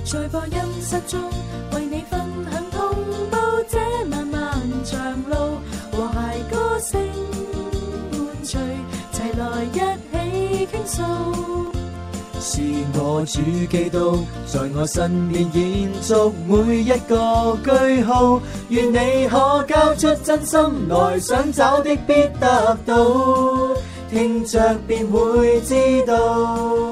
在播音室中為你分享同步這漫漫長路，和諧歌聲伴隨，齊來一起傾訴。 是我主基督在我身邊延續每一個句號，願你可交出真心來，想找的必得到，聽着便會知道。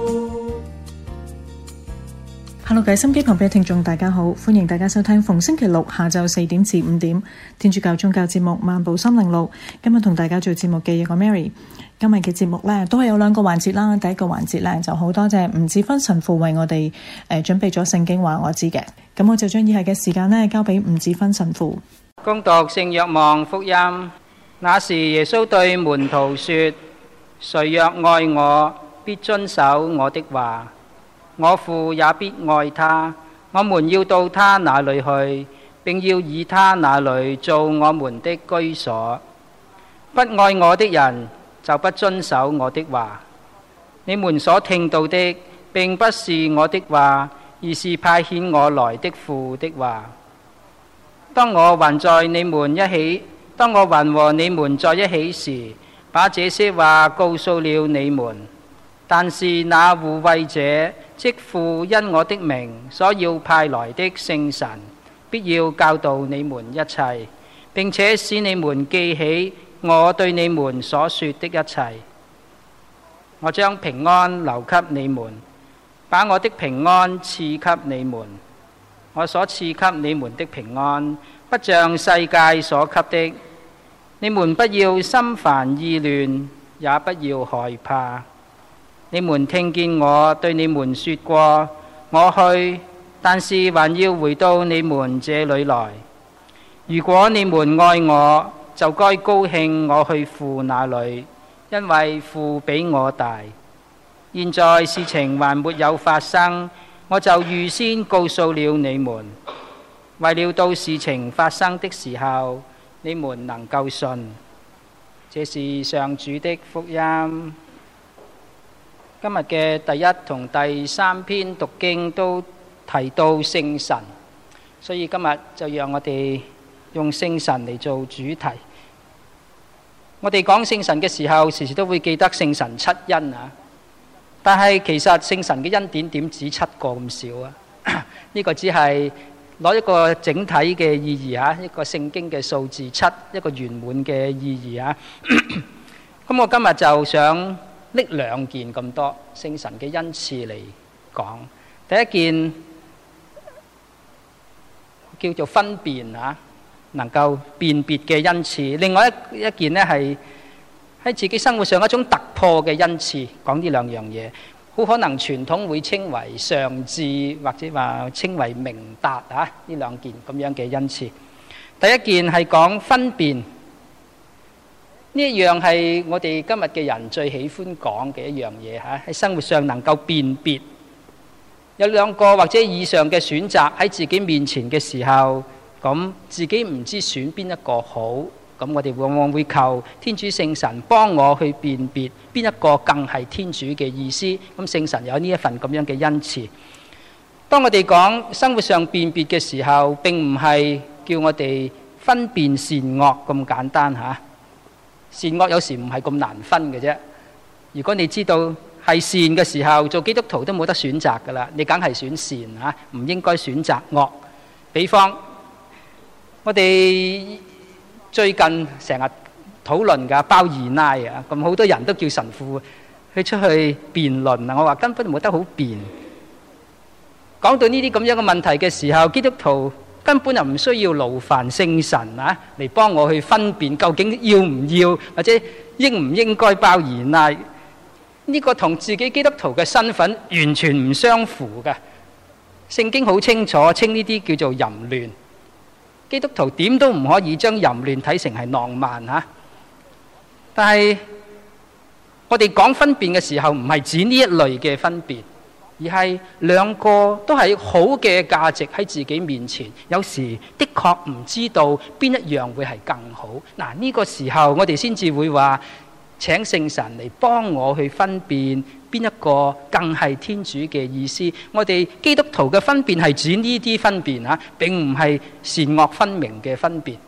Hello， 各位心機旁邊嘅聽眾大家好，歡迎大家收聽逢星期六下晝4點至5點天主教宗教節目《漫步心靈路》。今日同大家做節目嘅有個 Mary。今日嘅節目呢都係有兩個環節啦。第一個環節呢就好多謝吳志芬神父為我哋準備咗聖經話我知嘅，咁我就將以下嘅時間呢交俾吳志芬神父。 恭讀聖若望福音。那時耶穌對門徒說：誰若愛我，必遵守我的話，我父也必愛他，我們要到他那裏去，並要以他那裏做我們的居所。不愛我的人就不遵守我的話。你們所聽到的並不是我的話，而是派遣我來的父的話。當我還和你們在一起時，把這些話告訴了你們。但是那護慰者，即父因我的名所要派來的聖神，必要教導你們一切，並且使你們記起我對你們所說的一切。我將平安留給你們，把我的平安賜給你們。我所賜給你們的平安，不像世界所給的。你們不要心煩意亂，也不要害怕。你們聽見我對你們說過，我去，但是還要回到你們這裏來。如果你們愛我，就該高興我去父那裏，因為父比我大。現在事情還沒有發生，我就預先告訴了你們，為了到事情發生的時候，你們能夠信。這是上主的福音。今日嘅第一同第3篇讀經都提到聖神，所以今日就讓我哋用聖神嚟做主題。我哋講聖神嘅時候，時時都會記得聖神七恩啊。但係其實聖神嘅恩典點止7個咁少啊？呢個只係攞一個整體嘅意義啊，一個聖經嘅數字7，一個圓滿嘅意義啊。咁我今日就想拎2件咁多聖神嘅恩賜嚟講。第一件叫做分辨啊，能夠辨別嘅恩賜。另外一件呢係喺自己生活上一種突破嘅恩賜。講呢2樣嘢，好可能傳統會稱為上智，或者話稱為明達啊。呢2件咁樣嘅恩賜。第一件係講分辨。呢一樣係我哋今日嘅人最喜歡講嘅一樣嘢嚇，喺生活上能夠辨別有2個或者以上嘅選擇喺自己面前嘅時候，咁自己唔知選邊一個好，咁我哋往往會求天主聖神幫我去辨別邊一個更係天主嘅意思。咁聖神有呢一份咁樣嘅恩賜。當我哋講生活上辨別嘅時候，並唔係叫我哋分辨善惡咁簡單嚇。善惡有時唔係咁難分嘅啫。如果你知道係善嘅時候，做基督徒都冇得選擇噶啦，你梗係選善嚇，唔應該選擇惡。比方我哋最近成日討論㗎包二奶啊，咁好多人都叫神父去出去辯論啊。我話根本冇得好辯。講到呢啲咁樣嘅問題嘅時候，基督徒根本就唔需要勞煩聖神啊，嚟幫我去分辨究竟要唔要或者應唔應該包二奶。呢個同自己基督徒嘅身份完全唔相符嘅。聖經好清楚稱呢啲叫做淫亂。基督徒點都唔可以將淫亂睇成係浪漫嚇。但係我哋講分辨嘅時候，唔係指呢一類嘅分辨，而係2個都係好嘅價值喺自己面前，有時的確唔知道邊一樣會係更好。嗱，呢個時候我哋先至會話請聖神嚟幫我去分辨邊一個更係天主嘅意思。我哋基督徒嘅分辨係指呢啲分辨嚇，並唔係善惡分明嘅分辨。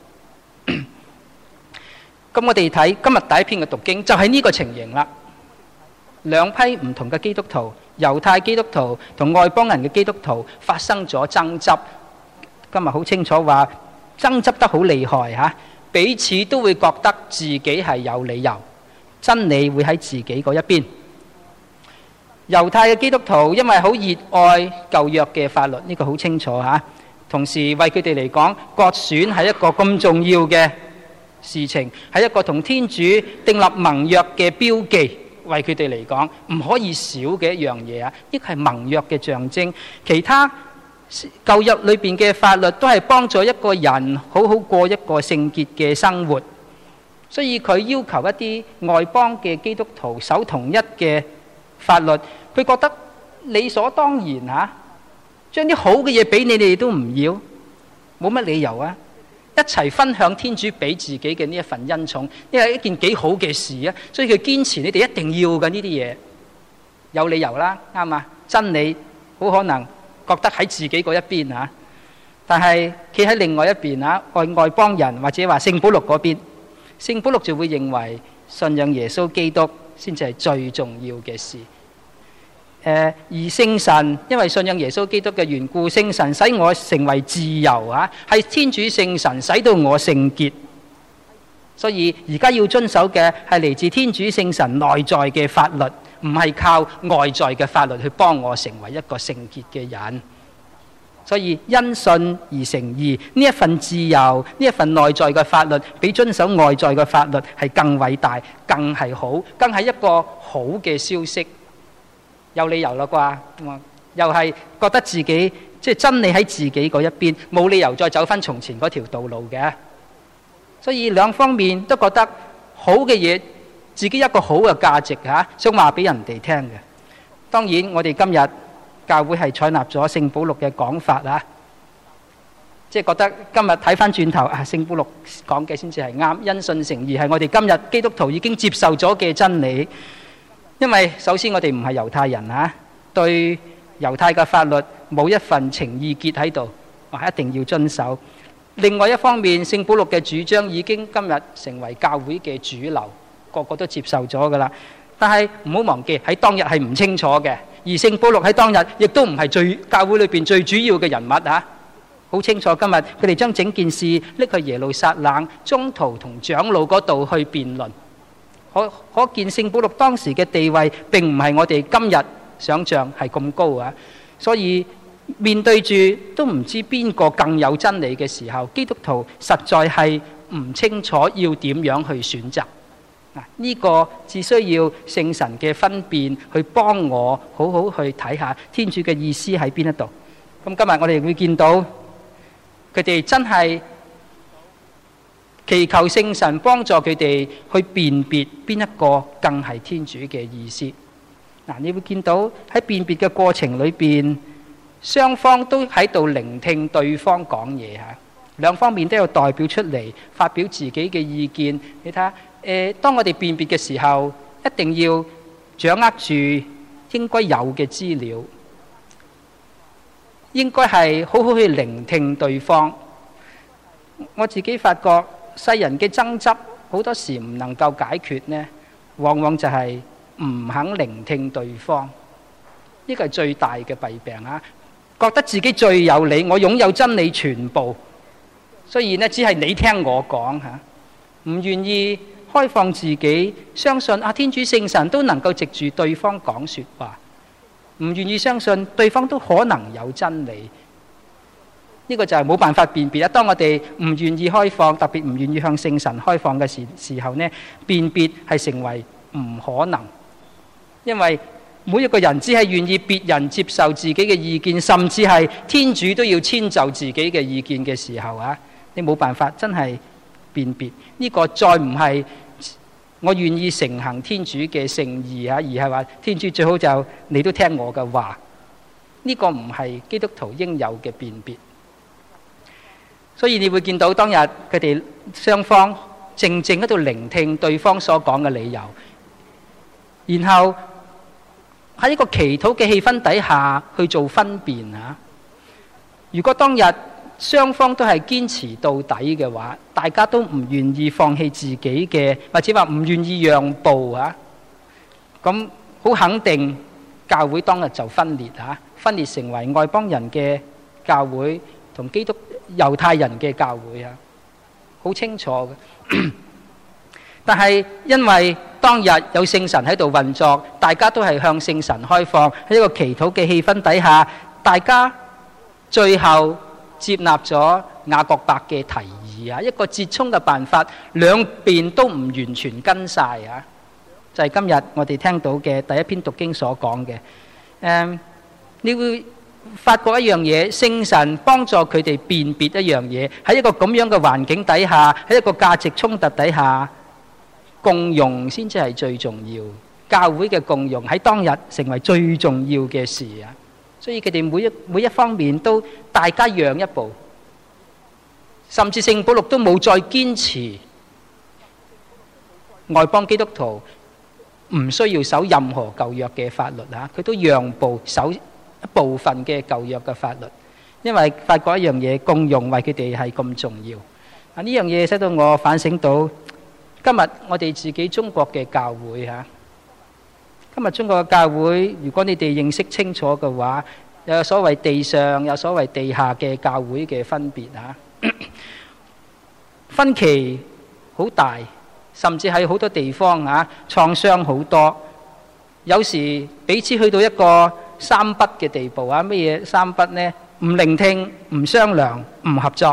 咁我哋睇今日第一篇嘅讀經，就係呢個情形啦。兩批唔同嘅基督徒，猶太基督徒同外邦人嘅基督徒發生咗爭執。今日好清楚話爭執得好厲害嚇，彼此都會覺得自己係有理由，真理會喺自己嗰一邊。猶太嘅基督徒因為好熱愛舊約嘅法律，呢個好清楚嚇，同時為佢哋嚟講，割損係一個咁重要嘅事情，係一個同天主訂立盟約嘅標記，為佢哋嚟講唔可以少嘅一樣嘢啊！呢個係盟約嘅象徵。其他舊約裏邊嘅法律都係幫助一個人好好過一個聖潔嘅生活，所以佢要求一啲外邦嘅基督徒守同一嘅法律，佢覺得理所當然嚇，將啲好嘅嘢俾你哋都唔要，冇乜理由啊！一齊分享天主俾自己嘅呢一份恩寵，呢係一件幾好嘅事啊！所以佢堅持你哋一定要嘅呢啲嘢，有理由啦，啱啊！真理好可能覺得喺自己嗰一邊嚇，但係企喺另外一邊嚇，外邦人或者話聖保祿嗰邊，聖保祿就會認為信仰耶穌基督先至係最重要嘅事。而聖神因為信仰耶穌基督嘅緣故，聖神使我成為自由啊，係天主聖神使到我聖潔。所以而家要遵守嘅係嚟自天主聖神內在嘅法律，唔係靠外在嘅法律去幫我成為一個聖潔嘅人。所以因信而成義，呢一份自由，呢一份內在嘅法律，比遵守外在嘅法律係更偉大、更係好、更係一個好嘅消息。有理由啦啩，又係覺得自己即係真理喺自己嗰一邊，冇理由再走翻從前嗰條道路嘅。所以兩方面都覺得好嘅嘢，自己一個好嘅價值嚇，想話俾人哋聽嘅。當然我哋今日教會係採納咗聖保祿嘅講法啦，即係覺得今日睇翻轉頭啊，聖保祿講嘅先至係啱，因信成義係我哋今日基督徒已經接受咗嘅真理。因為首先我哋唔係猶太人嚇，對猶太嘅法律冇一份情意結喺度，我一定要遵守。另外一方面，聖保祿嘅主張已經今日成為教會嘅主流，個個都接受咗噶啦。但係唔好忘記喺當日係唔清楚嘅，而聖保祿喺當日亦都唔係教會裏邊最主要嘅人物嚇。好清楚今日佢哋將整件事拎去耶路撒冷宗徒同長老嗰度去辯論。可見聖保祿當時嘅地位並唔係我哋今日想象係咁高啊！所以面對住都唔知邊個更有真理嘅時候，基督徒實在係唔清楚要點樣去選擇。呢個只需要聖神嘅分辨去幫我好好去睇下天主嘅意思喺邊一度。咁今日我哋會見到佢哋真係祈求聖神幫助佢哋去辨別邊一個更係天主嘅意思。你會見到喺辨別嘅過程裏邊，雙方都喺度聆聽對方講嘢嚇，兩方面都有代表出嚟發表自己嘅意見。你睇下，當我哋辨別嘅時候，一定要掌握住應該有嘅資料，應該係好好去聆聽對方。我自己發覺，世人嘅爭執好多時唔能夠解決呢，往往就係唔肯聆聽對方。呢個係最大嘅弊病啊！覺得自己最有理，我擁有真理全部，所以呢，只係你聽我講嚇，唔願意開放自己，相信天主聖神都能夠藉住對方講説話，唔願意相信對方都可能有真理。呢個就係冇辦法辨別啦。當我哋唔願意開放，特別唔願意向聖神開放嘅時候呢，辨別係成為唔可能。因為每一個人只係願意別人接受自己嘅意見，甚至係天主都要遷就自己嘅意見嘅時候啊，你冇辦法真係辨別。呢個再唔係我願意承行天主嘅聖意啊，而係話天主最好就你都聽我嘅話。呢個唔係基督徒應有嘅辨別。所以你會見到當日佢哋雙方靜靜喺度聆聽對方所講嘅理由，然後喺一個祈禱嘅氣氛底下去做分辨啊。如果當日雙方都係堅持到底嘅話，大家都唔願意放棄自己嘅，或者話唔願意讓步啊，咁好肯定教會當日就分裂啊，分裂成為外邦人嘅教會同基督猶太人嘅教會啊，好清楚嘅。但係因為當日有聖神喺度運作，大家都係向聖神開放，喺一個祈禱嘅氣氛底下，大家最後接納咗雅各伯嘅提議啊，一個折衷嘅辦法，兩邊都唔完全跟晒啊，就係今日我哋聽到嘅第一篇讀經所講嘅。你會發覺一樣嘢，聖神幫助佢哋辨別一樣嘢，喺一個咁樣嘅環境底下，喺一個價值衝突底下，共融先至係最重要。教會嘅共融喺當日成為最重要嘅事啊！所以佢哋每一方面都大家讓一步，甚至聖保祿都冇再堅持外邦基督徒唔需要守任何舊約嘅法律啊，佢都讓步守一部分嘅舊約嘅法律，因為發覺一樣嘢，共融為佢哋係咁重要啊！呢樣嘢使到我反省到今日我哋自己中國嘅教會嚇。今日中國嘅教會，如果你哋認識清楚嘅話，有所謂地上，有所謂地下嘅教會嘅分別啊，分歧好大，甚至喺好多地方啊，創傷好多。有時彼此去到一個三不嘅地步啊，乜嘢三不呢？唔聆聽、唔商量、唔合作，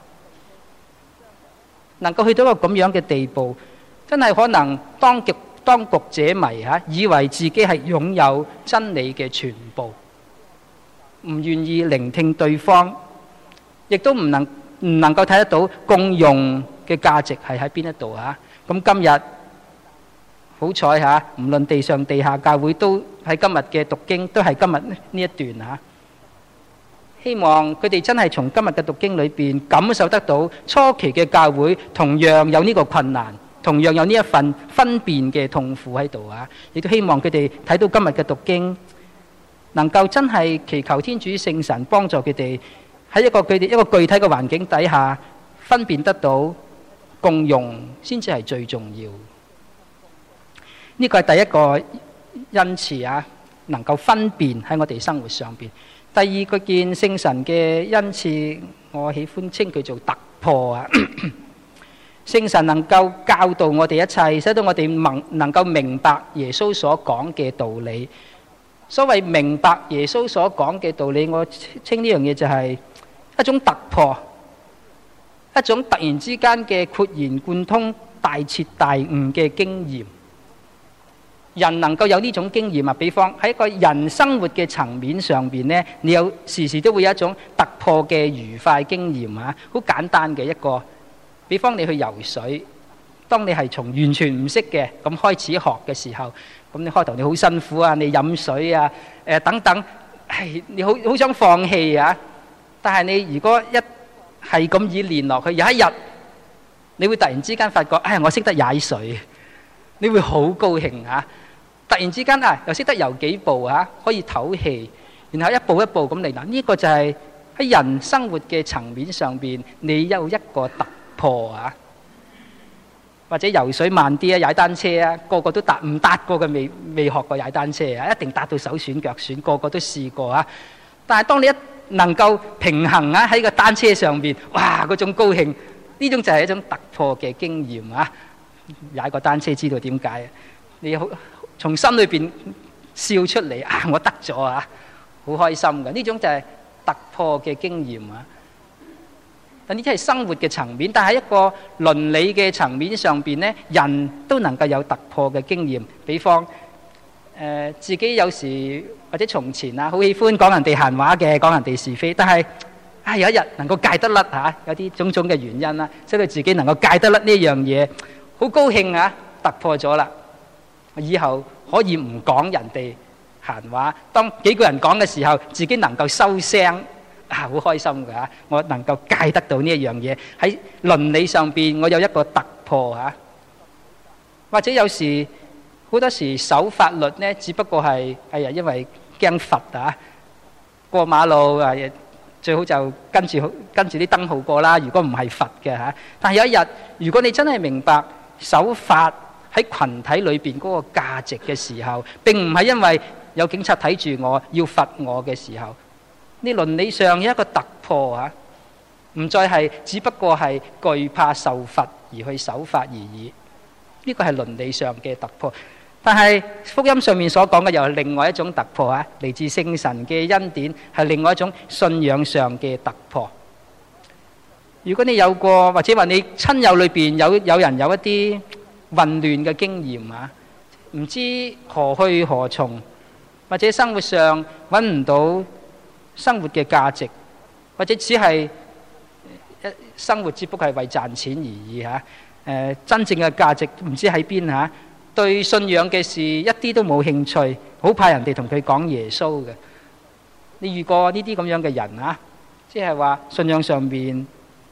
能夠去到一個咁樣嘅地步，真係可能當局者迷嚇，以為自己係擁有真理嘅全部，唔願意聆聽對方，亦都唔能夠睇得到共融嘅價值係喺邊一度嚇。咁今日好彩嚇，唔論地上地下教會都喺今日嘅讀經，都係今日呢一段嚇。希望佢哋真係從今日嘅讀經裏邊感受得到初期嘅教會同樣有呢個困難，同樣有呢一份分辨嘅痛苦喺度啊！亦都希望佢哋睇到今日嘅讀經，能夠真係祈求天主聖神幫助佢哋喺佢哋一個具體嘅環境底下分辨得到共融，先至係最重要。呢個係第一個恩賜啊，能夠分辨喺我哋生活上邊。第二個件聖神嘅恩賜，我喜歡稱佢做突破啊！聖神能夠教導我哋一切，使到我哋能夠明白耶穌所講嘅道理。所謂明白耶穌所講嘅道理，我稱呢樣嘢就係一種突破，一種突然之間嘅豁然貫通、大徹大悟嘅經驗。人能夠有呢種經驗啊，比方喺一個人生活嘅層面上邊呢，你有時時都會有一種突破嘅愉快經驗啊，好簡單嘅一個。比方你去游水，當你係從完全唔識嘅咁開始學嘅時候，咁你開頭你好辛苦啊，你飲水啊，等等，係你好想放棄啊。但係你如果一係咁以練落去，有一日你會突然之間發覺，我識得踩水，你會好高興啊！突然之間又識得游幾步啊，可以唞氣，然後一步一步咁嚟。嗱，呢個就係喺人生活嘅層面上邊，你有一個突破啊，或者游水慢啲啊，踩單車啊，個個都唔達過嘅未學過踩單車啊，一定達到手損腳損，個個都試過啊。但係當你一能夠平衡啊喺個單車上邊，哇，嗰種高興，呢種就係一種突破嘅經驗啊！踩個單車知道點解？你好從心裏邊笑出嚟啊！我得咗啊，好開心嘅，呢種就係突破嘅經驗啊！但呢啲係生活嘅層面，但係一個倫理嘅層面上邊呢，人都能夠有突破嘅經驗。比方自己有時或者從前好喜歡講人哋閒話嘅，講人哋是非，但係有一日能夠戒得甩嚇，有啲種種嘅原因啦，使到自己能夠戒得甩呢樣嘢，好高興啊！突破咗啦，以後可以唔講人哋閒話，當幾個人講嘅時候，自己能夠收聲。好開心㗎！我能夠戒得到呢一樣嘢，喺倫理上邊，我有一個突破嚇。或者有時好多時守法律呢，只不過係因為驚罰啊，過馬路啊，最好就跟住啲燈號過啦。如果唔係罰嘅嚇，但係有一日，如果你真係明白守法喺群體裏邊嗰個價值嘅時候，並唔係因為有警察睇住我要罰我嘅時候，你倫理上有一個突破嚇，唔再係只不過係懼怕受罰而去守法而已。呢個係倫理上嘅突破。但係福音上面所講嘅又係另外一種突破啊，嚟自聖神嘅恩典，係另外一種信仰上嘅突破。如果你有過或者話你親友裏邊有人有一啲混亂嘅經驗啊，唔知何去何從，或者生活上揾唔到生活嘅價值，或者只係生活只不過係為賺錢而已嚇。真正嘅價值唔知喺邊嚇。對信仰嘅事一啲都冇興趣，好怕人哋同佢講耶穌嘅。你遇過呢啲咁樣嘅人啊？即係話信仰上邊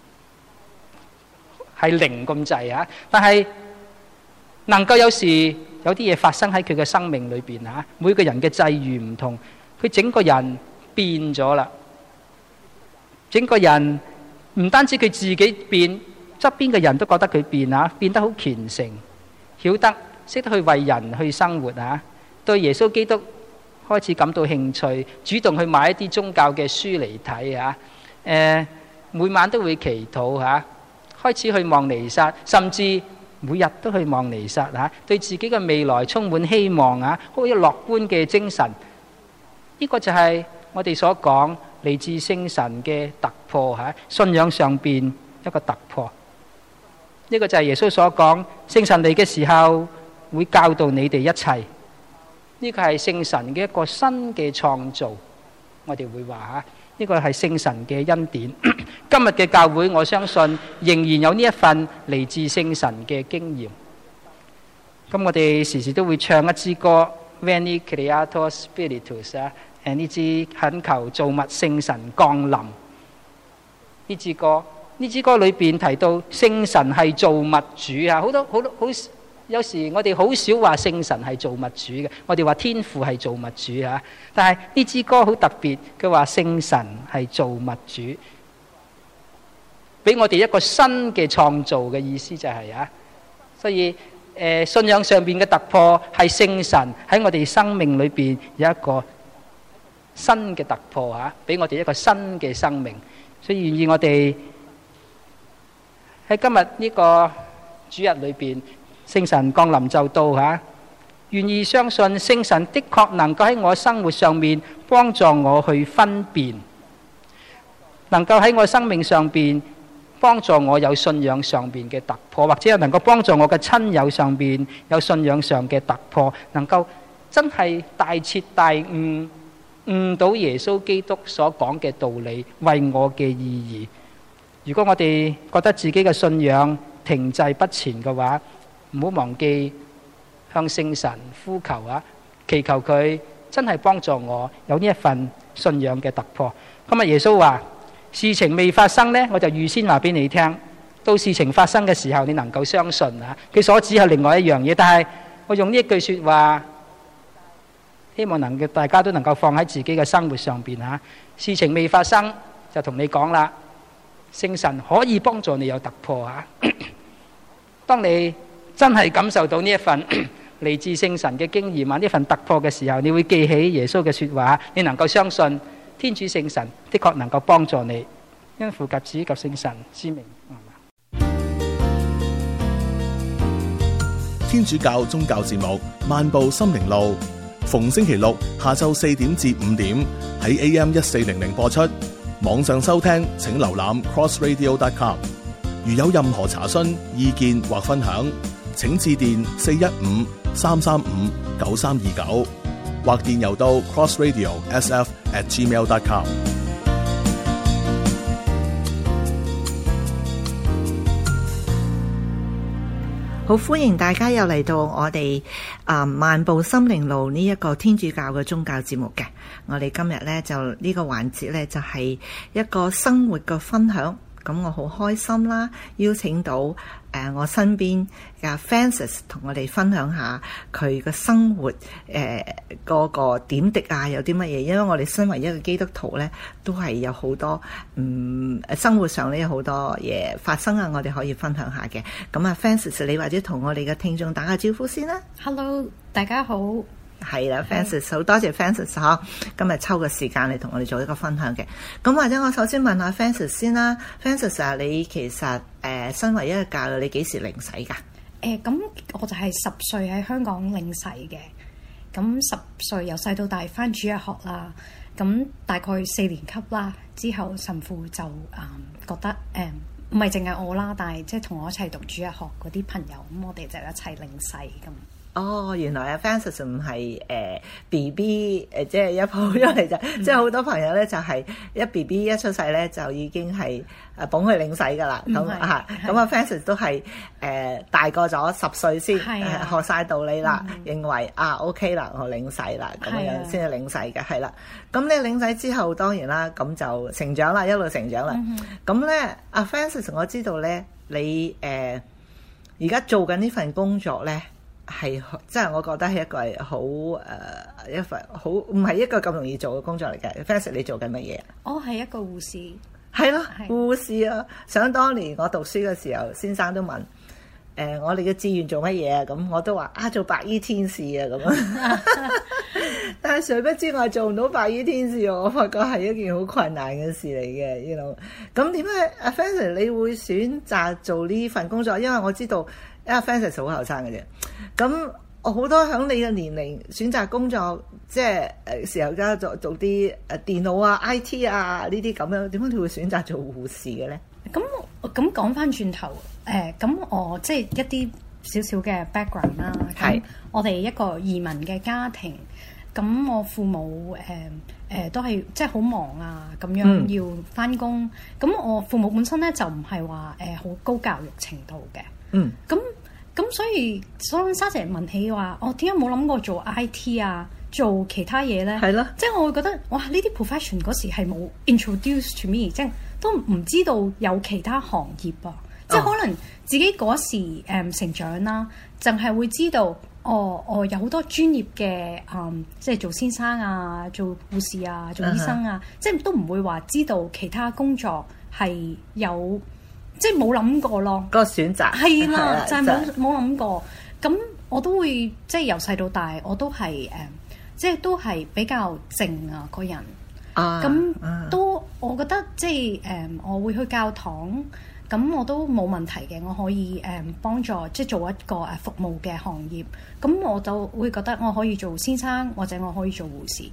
係零咁滯啊，但係能夠有時有啲嘢發生喺佢嘅生命裏邊啊。每個人嘅際遇唔同，佢整個人變咗啦。整個人唔單止佢自己變，側邊嘅人都覺得佢變啊，變得好虔誠，曉得識得去為人去生活啊，對耶穌基督開始感到興趣，主動去買一啲宗教嘅書嚟睇啊。每晚都會祈禱嚇，開始去望彌撒，甚至每日都去望彌撒嚇，對自己嘅未來充滿希望啊，好有樂觀嘅精神。呢個就係我哋所講嚟自聖神嘅突破嚇，信仰上邊一個突破。呢個就係耶穌所講，聖神嚟嘅時候會教導你哋一切。呢個係聖神嘅一個新嘅創造。我哋會話嚇，呢個係聖神嘅恩典。今日嘅教會，我相信仍然有呢一份嚟自聖神嘅經驗。咁我哋時時都會唱一支歌 Veni Creator Spiritus 啊，呢支懇求造物聖神降臨。呢支歌裏邊提到聖神係造物主啊，好多有時我哋好少話聖神係造物主嘅，我哋話天父係造物主啊。但係呢支歌好特別，佢話聖神係造物主，俾我哋一個新嘅創造嘅意思就係啊。所以信仰上邊嘅突破係聖神喺我哋生命裏邊有一個新嘅突破啊，俾我哋一個新嘅生命。所以願意我哋喺今日呢個主日裏邊，聖神降臨就到嚇，願意相信聖神的確能夠喺我生活上面幫助我去分辨，能夠喺我生命上邊幫助我有信仰上邊嘅突破，或者能夠幫助我嘅親友上邊有信仰上嘅突破，能夠真係大徹大悟，悟到耶穌基督所講嘅道理，為我嘅意義。如果我哋覺得自己嘅信仰停滯不前嘅話，唔好忘記向聖神呼求啊，祈求佢真係幫助我有呢一份信仰嘅突破。今日耶穌話，事情未發生呢，我就預先話俾你聽，到事情發生嘅時候，你能夠相信啊。佢所指係另外一樣嘢，但係我用呢一句說話，希望能夠大家都能夠放喺自己嘅生活上邊啊。事情未發生就同你講啦，聖神可以幫助你有突破啊。當你真係感受到呢一份嚟自聖神嘅經驗啊，呢份突破嘅時候，你會記起耶穌嘅說話，你能夠相信天主聖神的確能夠幫助你，因父及子及聖神之名。 天主教宗教節目《漫步心靈路》，逢星期六下晝4點至5點喺 AM1400 播出。網上收聽請瀏覽 crossradio.com。如有任何查詢、意見或分享，請致電415-335-9329，或電郵到 crossradio.sf@gmail.com。 好，歡迎大家又嚟到我哋漫步心靈路呢一個天主教嘅宗教節目嘅。我哋今日呢，就呢個環節呢，就係一個生活嘅分享。 咁我好開心啦，邀請到我身邊嘅 Francis 同我哋分享下佢嘅生活嗰個點滴啊，有啲乜嘢？因為我哋身為一個基督徒咧，都係有好多生活上咧有好多嘢發生啊，我哋可以分享下嘅。咁啊 Francis 你或者同我哋嘅聽眾打下招呼先啦。 Hello， 大家好。 係啦 Francis 好多謝 Francis 今日抽個時間嚟同我哋做一個分享嘅。咁或者我首先問下 Francis 先啦。Francis 啊，你其實身為一個教友，你幾時領洗㗎？ 咁我就係10歲喺香港領洗嘅。咁10歲由細到大返主日學啦。咁大概4年級啦，之後神父就覺得唔係淨係我啦，但係即係同我一齊讀主日學嗰啲朋友，咁我哋就一齊領洗咁。 哦，原來啊 Francis 唔係BB 即係一抱咗嚟就，即係好多朋友咧就係一 BB 一出世咧就已經係捧佢領洗噶啦。咁啊 Francis 都係大個咗10歲先學晒道理啦，認為OK 啦，我領洗啦，咁樣先係領洗嘅，係啦。咁你領洗之後當然啦，咁就成長啦，一路成長啦。咁咧阿 Francis 我知道咧，你而家做緊呢份工作咧。係，即係我覺得係一個係好一份好唔係一個咁容易做嘅工作嚟嘅。Francis 你做緊乜嘢？ 我係一個護士。係咯，護士啊！想當年我讀書嘅時候，先生都問我哋嘅志願做乜嘢啊？咁我都話做白衣天使啊咁啊。但係誰不知我做唔到白衣天使，我發覺係一件好困難嘅事嚟嘅。咁點解阿 Francis 你會選擇做呢份工作？因為我知道。因為 Francis 好後生嘅啫，咁我好多響你嘅年齡選擇工作，即係時候而家做啲電腦啊、IT 啊呢啲咁樣，點解你會選擇做護士嘅咧？ 咁講翻轉頭，咁我即係一啲少少嘅 background 啦。係我哋一個移民嘅家庭，咁我父母都係即係好忙啊，咁樣要翻工。咁我父母本身咧就唔係話好高教育程度嘅。咁所以沙姐問起話，我點解冇諗過做 IT 啊，做其他嘢咧？係咯，即係我會覺得，哇！呢啲 profession 嗰時係冇 introduce to me，即係都唔知道有其他行業啊。即係可能自己嗰時成長啦，淨係會知道，有好多專業嘅即係做先生啊，做護士啊，做醫生啊，即係都唔會話知道其他工作係有。即係冇諗過咯，個選擇係啦，就係冇諗過。咁我都會即係由細到大，我都係即係都係比較靜啊個人。咁都我覺得即係我會去教堂，咁我都冇問題嘅。我可以幫助即係做一個服務嘅行業。咁我就會覺得我可以做先生，或者我可以做護士。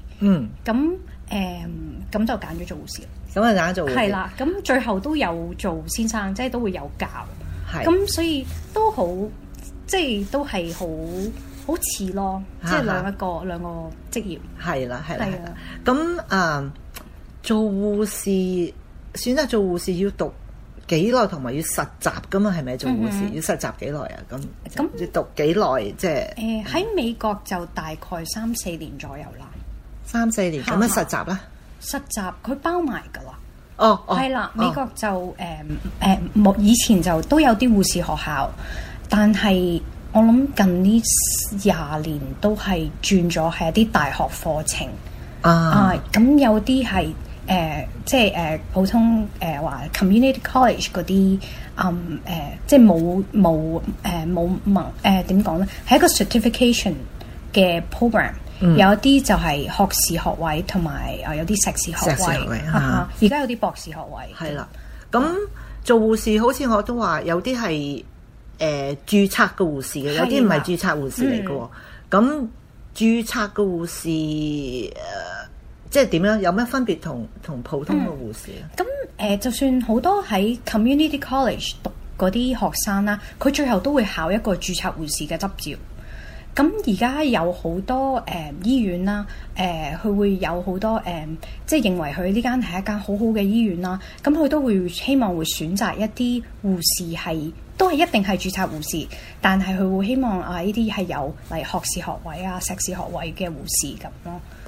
咁就揀咗做護士。咁啊揀咗做護士係啦。咁最後都有做先生，即係都會有教。咁所以都好，即係都係好似咯，即係兩個職業。係啦。咁做護士選擇做護士要讀幾耐，同埋要實習噶嘛？係咪做護士要實習幾耐啊？咁要讀幾耐？即係喺美國就大概3-4年左右啦。3-4年咁樣實習啦。實習佢包埋㗎啦。係啦，美國就以前就都有啲護士學校，但係我諗近呢20年都係轉咗係一啲大學課程。咁有啲係即係普通話 community college 嗰啲即係冇點講咧，係一個 certification 嘅 program。有一啲就係學士學位，同埋有啲碩士學位。而家有啲博士學位。係啦，咁做護士好似我都話有啲係註冊嘅護士嘅，有啲唔係註冊護士嚟嘅。咁註冊嘅護士即係點樣？有咩分別同普通嘅護士啊？咁就算好多喺 community college 讀嗰啲學生啦，佢最後都會考一個註冊護士嘅執照。咁而家有好多醫院啦，佢會有好多即係認為佢呢間係一間好好嘅醫院啦。咁佢都會希望會選擇一啲護士都係一定係註冊護士，但係佢會希望呢啲係有嚟學士學位啊、碩士學位嘅護士咁咯。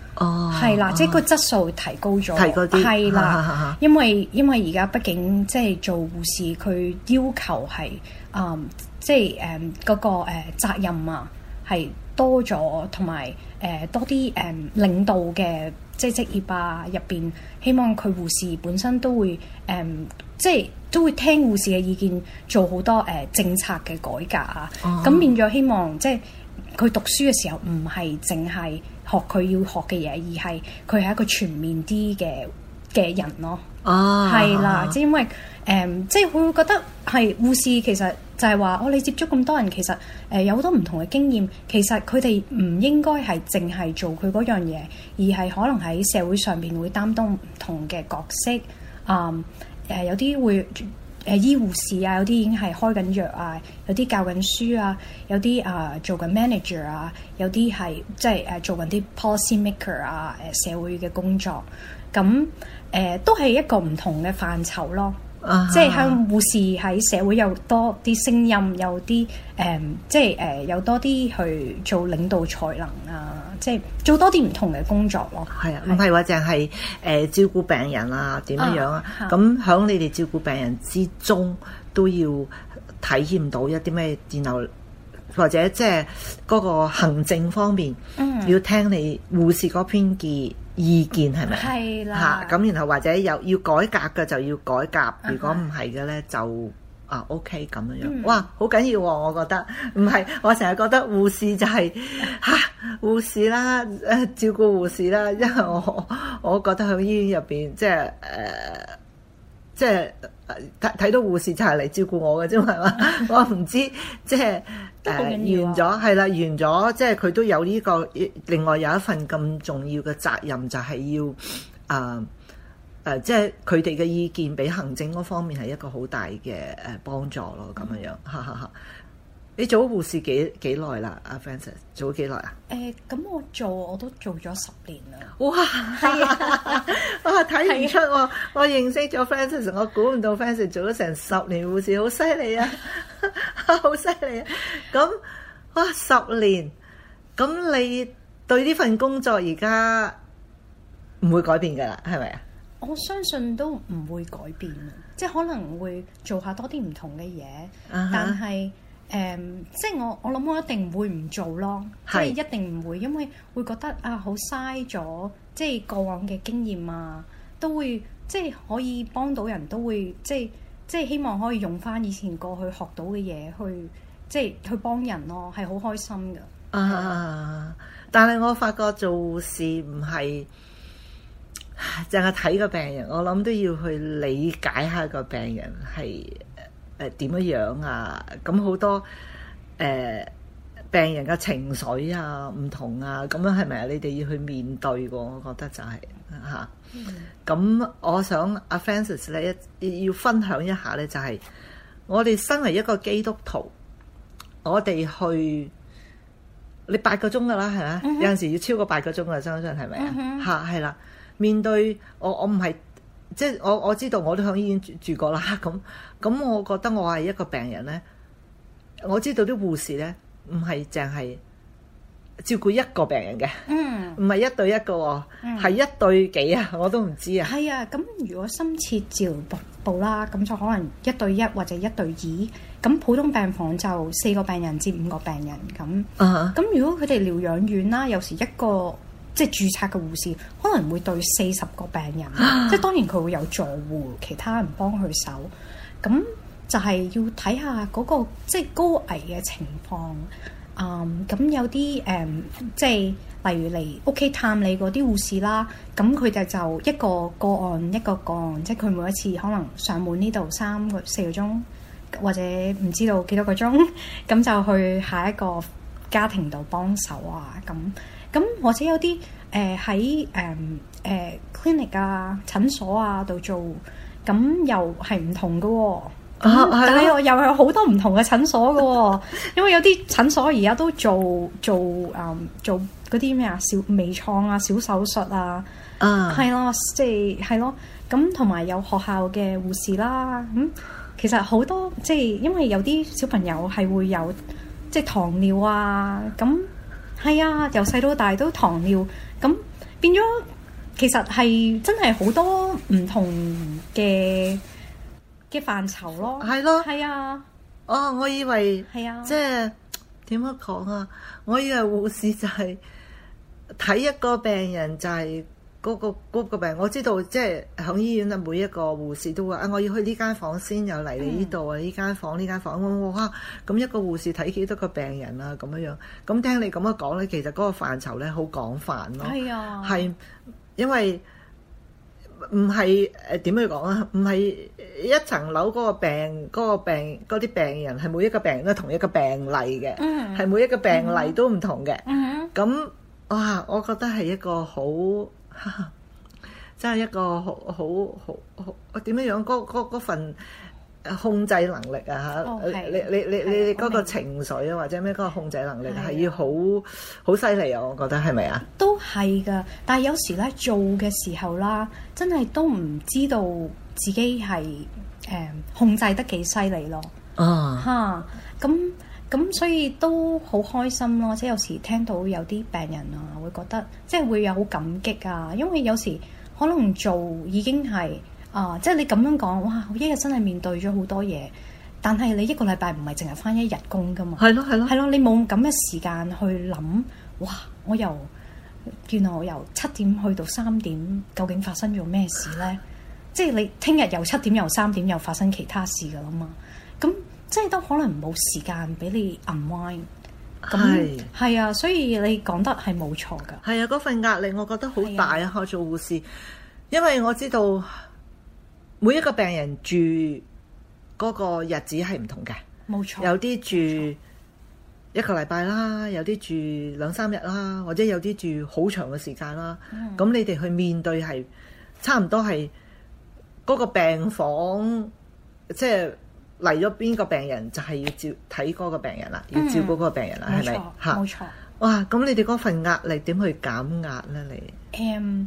哦， 係啦，即係個質素提高咗， 提高啲， 係啦，因為而家畢竟即係做護士，佢要求係即係嗰個責任啊係多咗，同埋多啲領導嘅即係職業啊入邊，希望佢護士本身都會即係都會聽護士嘅意見，做好多政策嘅改革啊。咁變咗希望即係佢讀書嘅時候唔係淨係學佢要學嘅嘢，而係佢係一個全面啲嘅人咯。係啦，即係因為即係佢會覺得係護士其實就係話你接觸咁多人，其實有好多唔同嘅經驗，其實佢哋唔應該係淨係做佢嗰樣嘢，而係可能喺社會上面會擔當唔同嘅角色。有啲會醫護士啊，有啲已經係開緊藥啊，有啲教緊書啊，有啲做緊 manager 啊，有啲係即係做緊啲 policy maker 啊，社會嘅工作，咁都係一個唔同嘅範疇咯。即係向護士喺社會有多啲聲音，有啲即係有多啲去做領導才能啊，即係做多啲唔同嘅工作咯。 係啊，唔係話淨係照顧病人啊點樣啊？咁喺你哋照顧病人之中，都要體驗到一啲咩？然後或者即係嗰個行政方面，要聽你護士嗰邊嘅意見係咪？ 係啦。 咁然後或者要改革嘅就要改革，如果唔係嘅咧就OK 咁樣。哇，好緊要喎！我覺得唔係，我成日覺得護士就係護士啦，照顧護士啦，因為我覺得喺醫院入邊即係睇到護士就係嚟照顧我嘅啫嘛，係嘛？我唔知即係完咗係啦，完咗即係佢都有呢個另外有一份咁重要嘅責任，就係要即係佢哋嘅意見俾行政嗰方面係一個好大嘅幫助咯，咁樣樣。你做護士幾耐啦？阿 Frances 做咗幾耐啊？ 咁我都做咗10年啦。 哇，係啊！哇，睇唔出喎！我認識咗 Frances， 我估唔到 Frances 做咗成10年護士，好犀利啊！好犀利啊！咁哇10年，咁你對呢份工作而家唔會改變㗎啦，係咪啊？ 我相信都唔會改變，即係可能會做下多啲唔同嘅嘢，但係即係我諗我一定會唔做咯，即係一定唔會，因為會覺得好嘥咗，即係過往嘅經驗啊，都會即係可以幫到人，都會即係希望可以用翻以前過去學到嘅嘢去即係去幫人咯，係好開心㗎。 但係我發覺做護士唔係淨係睇個病人，我諗都要去理解下個病人係點樣啊？咁好多病人嘅情緒啊唔同啊，咁樣係咪啊？你哋要去面對喎，我覺得就係咁我想阿 Frances 咧要分享一下咧，就係我哋身為一個基督徒，我哋去你8個鐘㗎啦，係咪？有陣時要超過8個鐘㗎，相信係咪啊？係啦。面對我唔係即係我知道我都喺醫院住過啦，咁我覺得我係一個病人咧，我知道啲護士咧唔係淨係照顧一個病人嘅，唔係1對1個，係1對幾啊？我都唔知啊。 係啊，咁如果深切治療部啦，咁就可能1對1或者1對2，咁普通病房就4個病人至5個病人咁。咁如果佢哋療養院啦，有時一個即係註冊嘅護士可能會對40個病人，即係當然佢會有助護，其他人幫佢手，咁就係要睇下嗰個即係高危嘅情況。咁有啲即係例如嚟屋企探你嗰啲護士啦，咁佢哋就一個個案一個個案，即係佢每一次可能上門呢度3個4個鐘，或者唔知道幾多個鐘，咁就去下一個家庭度幫手啊咁或者有啲喺clinic 啊診所啊度做，咁又係唔同嘅喎。但係又有好多唔同嘅診所嘅喎，因為有啲診所而家都做嗰啲咩啊小微創啊小手術啊，係咯，即係係咯，咁同埋有學校嘅護士啦，其實好多即係因為有啲小朋友係會有即係糖尿啊咁。係啊，由細到大都糖尿，咁變咗其實係真係好多唔同嘅範疇咯。 係咯， 係啊。 哦，我以為係啊， 即係點樣講啊？我以為護士就係睇一個病人就係嗰個病，我知道即係喺醫院啊，每一個護士都話啊，我要去呢間房先，又嚟你呢度啊，呢間房呢間房，哇！咁一個護士睇幾多個病人啊？咁樣，咁聽你咁樣講咧，其實嗰個範疇咧好廣泛咯。 係啊， 係因為唔係點樣講啊？唔係一層樓嗰啲病人係每一個病人都同一個病例嘅，係每一個病例都唔同嘅。咁哇，我覺得係一個好。真係一個好點樣樣嗰份控制能力啊嚇！你嗰個情緒啊，或者咩嗰個控制能力係要好犀利啊！我覺得係咪啊？ 都係㗎，但係有時咧做嘅時候啦，真係都唔知道自己係控制得幾犀利咯。嚇咁所以都好開心咯，即係有時聽到有啲病人啊，會覺得即係會有好感激啊，因為有時可能做已經係即係你咁樣講，哇！我一日真係面對咗好多嘢，但係你一個禮拜唔係淨係返一日工㗎嘛，係咯，你冇咁嘅時間去諗，哇！原來我由7點去到3點，究竟發生咗咩事咧？即係你聽日由7點由3點又發生其他事㗎啦嘛，咁。即係都可能冇時間俾你 unwind， 咁係啊，所以你講得係冇錯㗎。係啊， 嗰份壓力我覺得好大啊！我做護士，因為我知道每一個病人住嗰個日子係唔同嘅， 冇錯。 有啲住一個禮拜啦，有啲住2-3日啦，或者有啲住好長嘅時間啦。咁你哋去面對係差唔多係嗰個病房，即係。嚟咗邊個病人就係要睇嗰個病人啦，要照顧嗰個病人啦，係咪？嚇，冇錯。哇！咁你哋嗰份壓力點去減壓咧？你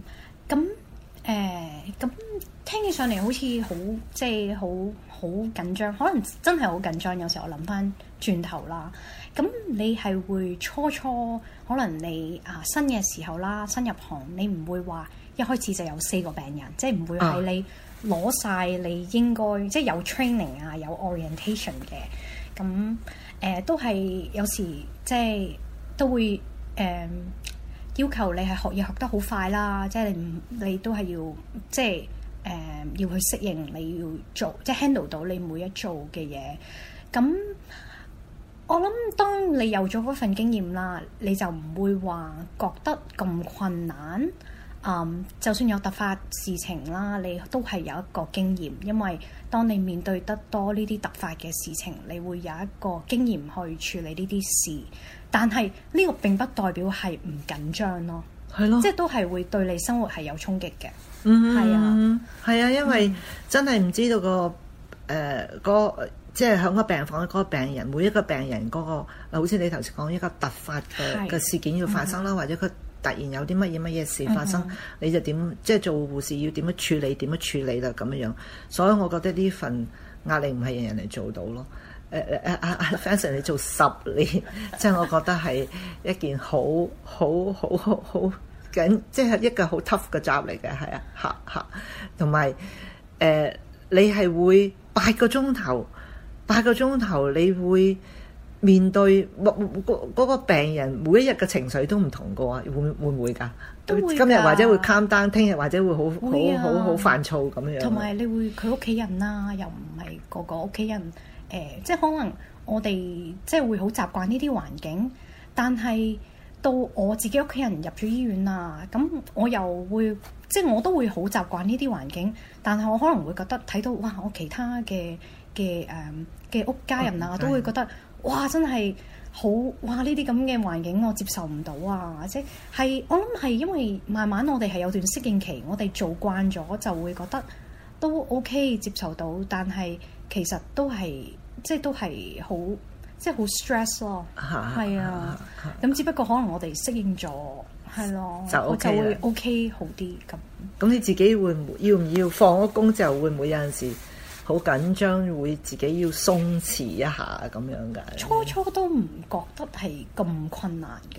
咁聽起上嚟好似好即係好緊張，可能真係好緊張。有時我諗翻轉頭啦，咁你係會初可能你新嘅時候啦，新入行你唔會話一開始就有4個病人，即係唔會係你。攞晒你應該即係有 training 啊，有 orientation 嘅，咁都係有時即係都會要求你係學嘢學得好快啦，即係你都係要即係要去適應，你要做即係 handle 到你每一做嘅嘢。咁我諗當你有咗嗰份經驗啦，你就唔會話覺得咁困難。就算有突發事情啦，你都係有一個經驗，因為當你面對得多呢啲突發嘅事情，你會有一個經驗去處理呢啲事。但係呢個並不代表係唔緊張咯，係咯，即係都係會對你生活係有衝擊嘅。係啊，因為真係唔知道即係喺個病房嗰個病人，每一個病人嗰個，好似你頭先講一個突發嘅事件要發生啦，或者佢突然有啲乜嘢事發生，你就點即係做護士要點樣處理啦咁樣。所以我覺得呢份壓力唔係人人嚟做到咯。Francis 你做10年，即係我覺得係一件好緊，即係一個好 tough 嘅 job 嚟嘅，係啊，同埋你係會8個鐘頭，你會面對嗰個病人每一日嘅情緒都唔同嘅喎，會唔會㗎？今日或者會 calm down，聽日或者會好煩躁咁樣。同埋你會佢屋企人啦，又唔係個屋企人即係可能我哋即係會好習慣呢啲環境，但係到我自己屋企人入咗醫院啊，咁我又會即係我都會好習慣呢啲環境，但係我可能會覺得睇到哇，我其他嘅屋家人啊，都會覺得哇，真係好哇！呢啲咁嘅環境我接受唔到啊，即係我諗係因為慢慢我哋係有段適應期，我哋做慣咗就會覺得都 OK 接受到，但係其實都係即係都係好即係好 stress 咯，係啊，咁只不過可能我哋適應咗，係咯，就會 OK 好啲咁。咁你自己要唔要放咗工之後會唔會有陣時好緊張，會自己要鬆弛一下咁樣㗎？初都唔覺得係咁困難㗎，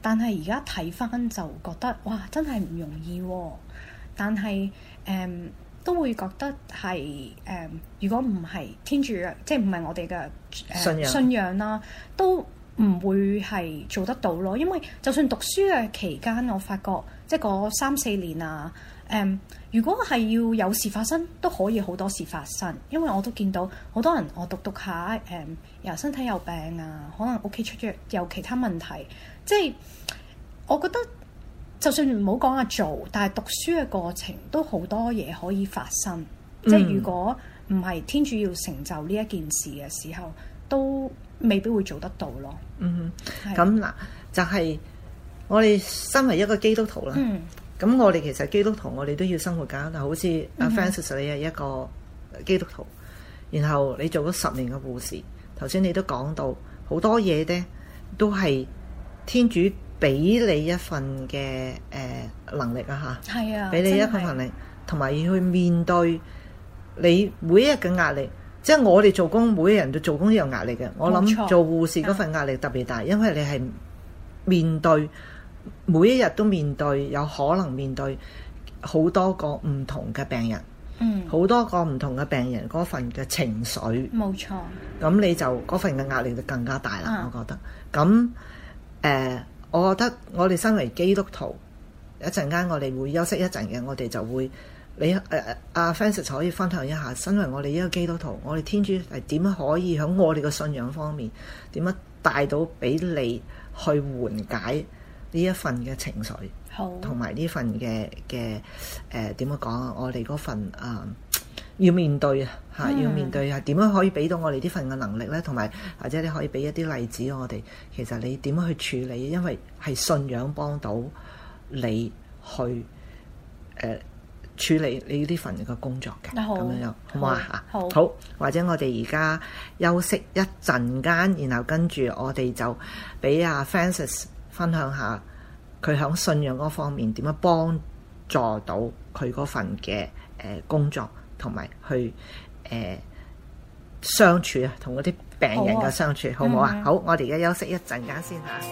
但係而家睇翻就覺得哇，真係唔容易喎。但係都會覺得係如果唔係天主，即係唔係我哋嘅信仰啦，都唔會係做得到咯。因為就算讀書嘅期間，我發覺即係嗰3-4年啊，如果係要有事發生，都可以好多事發生。因為我都見到好多人，我讀下又身體有病啊，可能屋企出咗有其他問題。即係我覺得，就算唔好講做，但係讀書嘅過程都好多嘢可以發生。即係如果唔係天主要成就呢一件事嘅時候，都未必會做得到咯。 咁嗱，就係我哋身為一個基督徒啦。咁我哋其實基督徒，我哋都要生活㗎。嗱，好似阿 Francis 你係一個基督徒，然後你做咗10年嘅護士，頭先你都講到好多嘢咧，都係天主俾你一份嘅能力啊嚇，係啊，俾你一份能力，同埋要去面對你每一日嘅壓力。即係我哋做工，每一人都做工都有壓力嘅。我諗做護士嗰份壓力特別大，因為你係面對每一日都面對，有可能面對好多個唔同嘅病人，好多個唔同嘅病人嗰份嘅情緒， 冇錯。 咁你就嗰份嘅壓力就更加大啦。我覺得咁我覺得我哋身為基督徒，一陣間我哋會休息一陣嘅，我哋就會阿 Francis 可以分享一下，身為我哋一個基督徒，我哋天主係點樣可以喺我哋嘅信仰方面點樣帶到俾你去緩解呢一份嘅情緒，同埋呢份嘅點樣講啊？我哋嗰份要面對嚇，要面對係點樣可以俾到我哋呢份嘅能力咧？同埋或者你可以俾一啲例子我哋，其實你點樣去處理？因為係信仰幫到你去處理你呢份嘅工作嘅，咁樣好唔好啊？好，或者我哋而家休息一陣間，然後跟住我哋就俾阿 Francis 分享下佢響信仰嗰方面點樣幫助到佢嗰份嘅工作，同埋去相處啊，同嗰啲病人嘅相處，好唔好啊？好，我哋而家休息一陣間先嚇。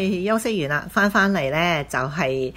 哋休息完啦，翻嚟咧就係、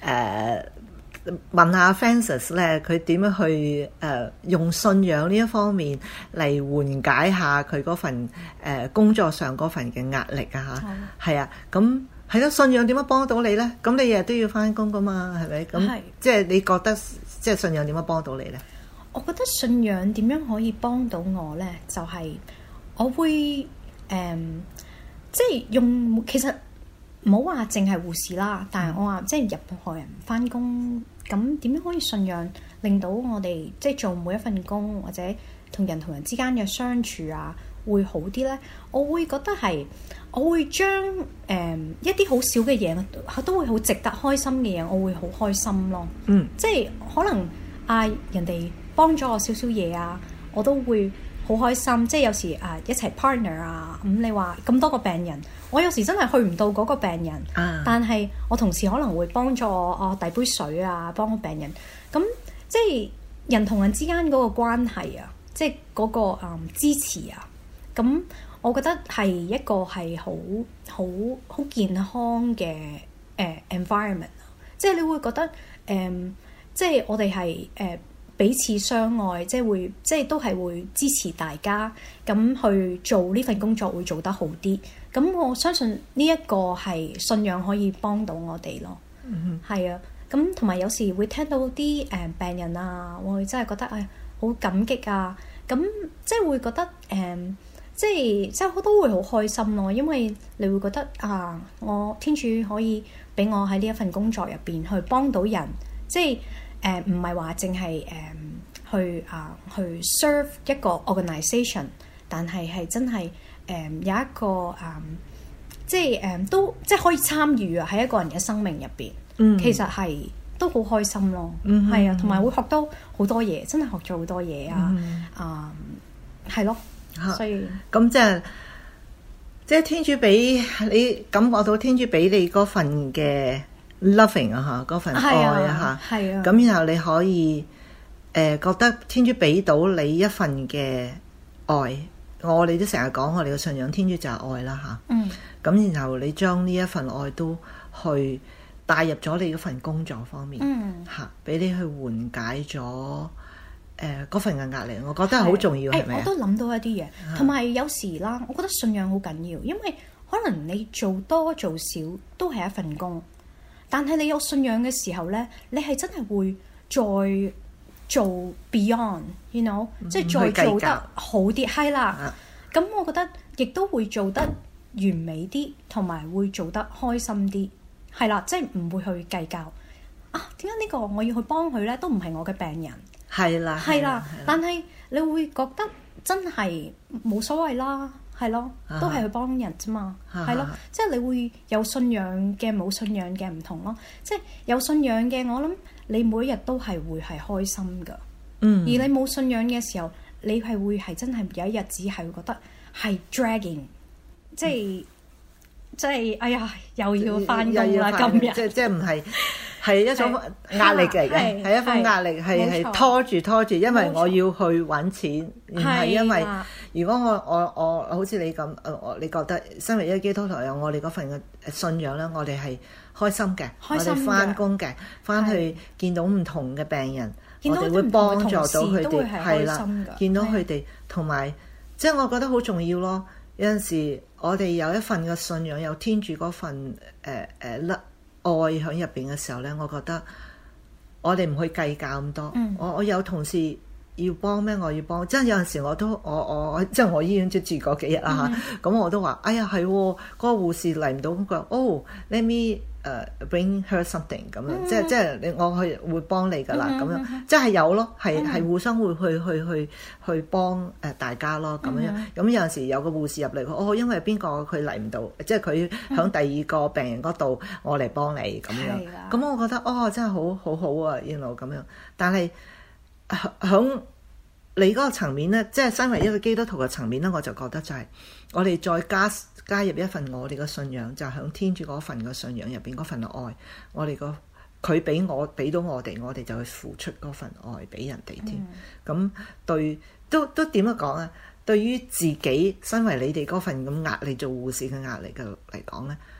問下 Francis 咧，佢點樣去用信仰呢一方面嚟緩解下佢嗰份工作上嗰份嘅壓力啊嚇，係啊，咁係咯，信仰點樣幫到你咧？咁你日日都要翻工噶嘛，係咪？咁即係你覺得即係信仰點樣幫到你咧？ 我覺得信仰點樣可以幫到我咧，就係、我會即係用其實唔好話淨係護士啦，但係我話即係任何人翻工。咁點樣可以信仰令到我哋即係做每一份工或者同人之間嘅相處啊會好啲呢？我會覺得係我會將一啲好少嘅嘢都會好值得開心嘅嘢，我會好開心咯。即係可能人哋幫咗我少少嘢啊，我都會好開心。即係有時一齊 partner 啊，咁你話咁多個病人。我有時真係去唔到嗰個病人，但係我同事可能會幫助我遞杯水啊，幫個病人。咁即係人同人之間嗰個關係啊，即係嗰個支持啊。咁我覺得係一個係好健康嘅environment。即係你會覺得即係我哋係彼此相愛，即係都係會支持大家咁去做呢份工作，會做得好啲。咁我相信呢一個係信仰可以幫到我哋咯。係啊，咁同埋有時會聽到啲病人啊，我會真係覺得好感激啊。咁即係會覺得即係好多會好開心咯，因為你會覺得我天主可以俾我喺呢一份工作入邊去幫到人，即係唔係話淨係去 serve 一個 organisation， 但係真係有一個即係都即係可以參與啊喺一個人嘅生命入邊，其實係都好開心咯。係啊，同埋會學到好多嘢，真係學咗好多嘢啊。係咯，所以咁即係天主俾你感覺到天主俾你嗰份嘅 loving 啊嚇，嗰份愛啊嚇，咁然後你可以覺得天主俾到你一份嘅愛。我哋都成日講我哋嘅信仰，天主就係愛啦嚇。咁然後你將呢一份愛都去帶入咗你嗰份工作方面嚇，俾你去緩解咗嗰份嘅壓力。我覺得係好重要，係咪？ 我都諗到一啲嘢，同埋有時啦，我覺得信仰好緊要，因為可能你做多做少都係一份工，但係你有信仰嘅時候咧，你係真係會再做 beyond，you know，即係再做得好啲，係啦。咁我覺得亦都會做得完美啲，同埋會做得開心啲，係啦，即係唔會去計較點解呢個我要去幫佢咧，都唔係我嘅病人，係啦。但係你會覺得真係冇所謂啦，係咯，都係去幫人啫嘛，係咯，即係你會有信仰嘅冇信仰嘅唔同咯。即係有信仰嘅，我諗你每一日都係會係開心㗎。而你冇信仰嘅時候，你係會係真係有一日只係會覺得係 dragging， 即係哎呀又要返工啦今日， 即係唔係一種壓力嚟嘅，係一種壓力，係拖住，因為我要去揾錢，唔係因為如果我好似你咁，你覺得身為一個基督徒有我哋嗰份嘅信仰咧，我哋係開心嘅，我哋返工嘅，返去見到唔同嘅病人。我哋會幫助到佢哋，係啦，見到佢哋，同埋即係我覺得好重要咯。有陣時我哋有一份嘅信仰，有天主嗰份愛喺入邊嘅時候咧，我覺得我哋唔去計較咁多。我有同事要幫咩？我要幫，即係有陣時我都我即係我醫院住嗰幾日啦嚇，咁我都話：哎呀係，嗰個護士嚟唔到，咁佢話：let me bring her something 咁樣，即係我去會幫你㗎啦，咁樣即係有咯，係互相會去幫大家咯，咁樣。咁有陣時有個護士入嚟，因為邊個佢嚟唔到，即係佢響第二個病人嗰度，我嚟幫你咁樣。咁我覺得真係好好啊，原來咁樣。但係響你嗰個層面咧，即係身為一個基督徒嘅層面咧，我就覺得就係我哋再加入一份我哋嘅信仰，就係響天主嗰份嘅信仰入邊嗰份愛，我哋佢俾到我哋，我哋就去付出嗰份愛俾人哋添。咁對都點樣講啊？對於自己身為你哋嗰份咁壓力做護士嘅壓力嘅嚟講咧，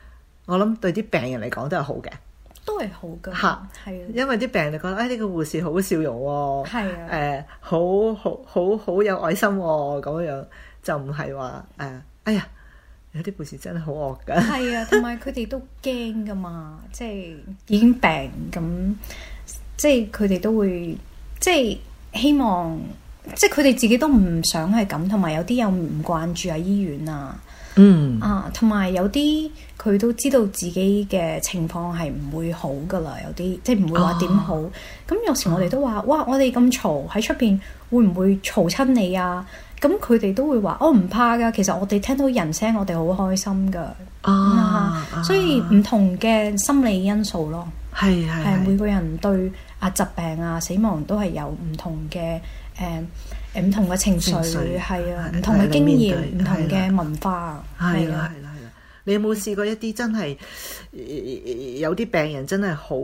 我諗對啲病人嚟講都係好嘅， 都係好㗎， 嚇係啊， 因為啲病人就覺得呢個護士好笑容喎， 係啊， 好有愛心喎，咁樣就唔係話哎呀有啲護士真係好惡㗎， 係啊，同埋佢哋都驚㗎嘛，即係已經病咁，即係佢哋都會即係希望，即係佢哋自己都唔想係咁，同埋有啲又唔慣住喺醫院啊。同埋有啲佢都知道自己嘅情況係唔會好噶啦，有啲即係唔會話點好。咁有時我哋都話：哇！我哋咁嘈喺出邊，會唔會嘈親你啊？咁佢哋都會話：我唔怕噶，其實我哋聽到人聲，我哋好開心噶。所以唔同嘅心理因素咯，係每個人對疾病啊、死亡都係有唔同嘅唔同嘅情緒，係啊，唔同嘅經驗，唔同嘅文化，係啦。 你有冇試過一啲真係有啲病人真係好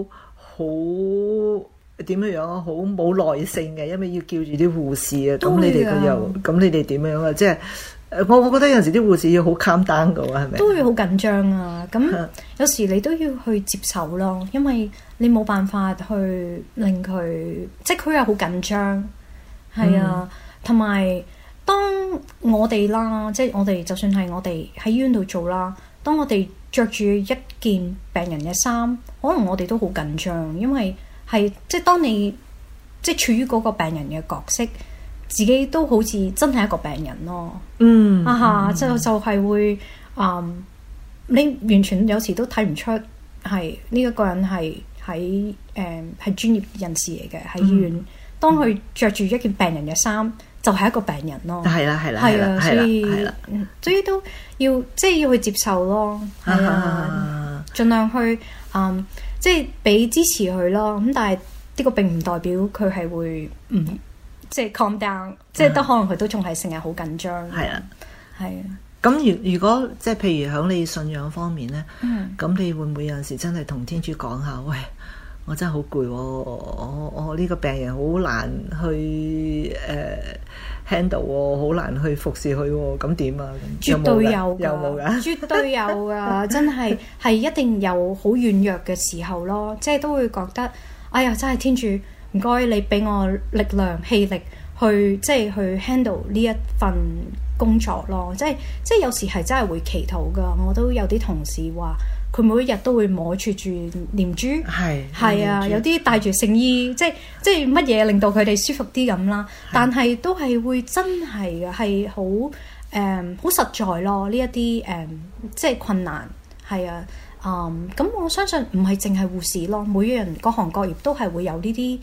點樣啊？好冇耐性嘅，因為要叫住啲護士啊。咁你哋點樣啊？即係我覺得有陣時啲護士要好 calm down 㗎喎，係咪？ 都會好緊張啊！咁有時你都要去接受咯，因為你冇辦法去令佢，即係佢又好緊張。係啊，同埋當我哋啦，即係我哋就算係我哋喺醫院度做啦，當我哋着住一件病人嘅衫，可能我哋都好緊張，因為係即係當你即係處於嗰個病人嘅角色，自己都好似真係一個病人咯。就係會你完全有時都睇唔出係呢一個人係係專業人士嚟嘅喺醫院。當佢着住一件病人嘅衫，就係一個病人咯。係啦，所以都要即係要去接受咯。係啊，盡量去即係俾支持佢咯。咁但係呢個並唔代表佢係會即係 calm down，即係都可能佢都仲係成日好緊張。係啊。 咁如果即係譬如喺你信仰方面咧，咁你會唔會有陣時真係同天主講下，喂？我真係好攰喎，我呢個病人好難去handle 喎，好難去服侍佢喎，咁點啊？ 絕對有㗎， 有冇㗎？ 絕對有㗎，真係一定有好軟弱嘅時候咯，即係都會覺得，哎呀，真係天主，唔該你俾我力量氣力去即係去 handle 呢一份工作咯，即係有時係真係會祈禱㗎，我都有啲同事話。佢每一日都會摸住念珠，係啊，有啲帶住聖衣，即係乜嘢令到佢哋舒服啲咁啦。但係都係會真係嘅，係好好實在咯。呢一啲即係困難係啊。咁我相信唔係淨係護士咯，每個人各行各業都係會有呢啲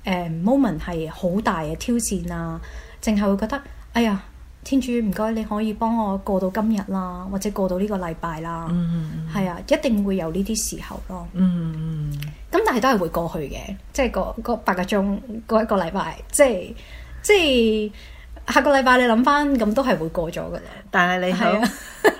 moment 係好大嘅挑戰啊。淨係會覺得哎呀〜天主唔該，你可以幫我過到今日啦，或者過到呢個禮拜啦。係啊，一定會有呢啲時候咯。咁但係都係會過去嘅，即係個8個鐘嗰一個禮拜，即係下個禮拜你諗翻，咁都係會過咗噶啦。 但係你喺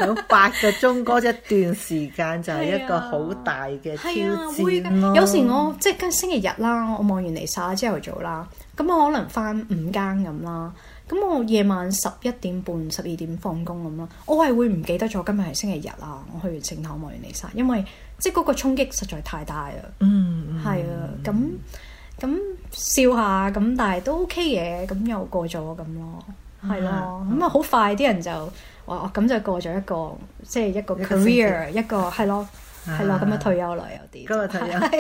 8個鐘嗰一段時間就係一個好大嘅挑戰咯。 有時我即係星期日啦，我望完彌撒朝頭早啦，咁我可能翻5更咁啦。咁我夜晚11點半、12點放工咁咯，我係會唔記得咗今日係星期日啊！我去完聖堂望完彌撒，因為即係嗰個衝擊實在太大啦。係啊，咁笑下咁，但係都 OK 嘅，咁又過咗咁咯，係咯，咁啊好快啲人就話咁就過咗一個即係一個 career 一個係咯，咁樣退休啦有啲。 今日退休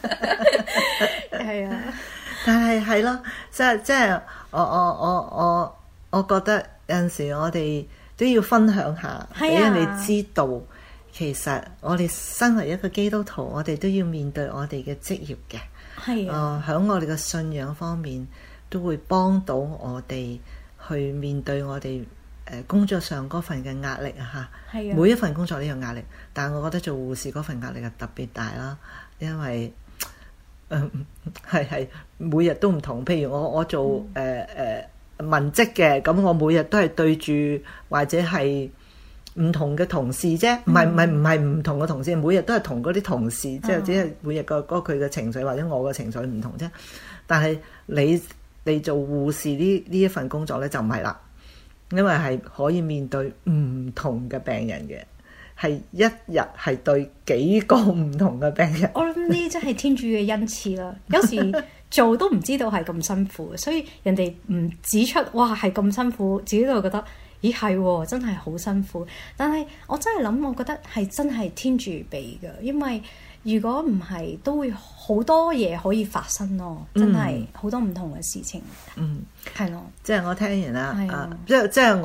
係啊， 但係咯，即係。我覺得有陣時我哋都要分享下，俾人哋知道，其實我哋身為一個基督徒，我哋都要面對我哋嘅職業嘅。係啊，喺我哋嘅信仰方面，都會幫到我哋去面對我哋工作上嗰份嘅壓力啊！嚇，每一份工作都有壓力，但係我覺得做護士嗰份壓力係特別大啦，因為係每日都唔同。譬如我做文職嘅，咁我每日都係對住或者係唔同嘅同事啫，唔係唔同嘅同事，每日都係同嗰啲同事，即係只係每日個佢嘅情緒或者我嘅情緒唔同啫。但係你做護士呢一份工作咧就唔係啦，因為係可以面對唔同嘅病人嘅。 係一日係對幾個唔同嘅病人。 我諗呢真係天主嘅恩賜啦。有時做都唔知道係咁辛苦，所以人哋唔指出哇係咁辛苦，自己都會覺得咦係喎，真係好辛苦。但係我真係諗，我覺得係真係天主俾嘅，因為如果唔係，都會好多嘢可以發生咯。真係好多唔同嘅事情。 嗯， 係咯。 即係我聽完啦，即係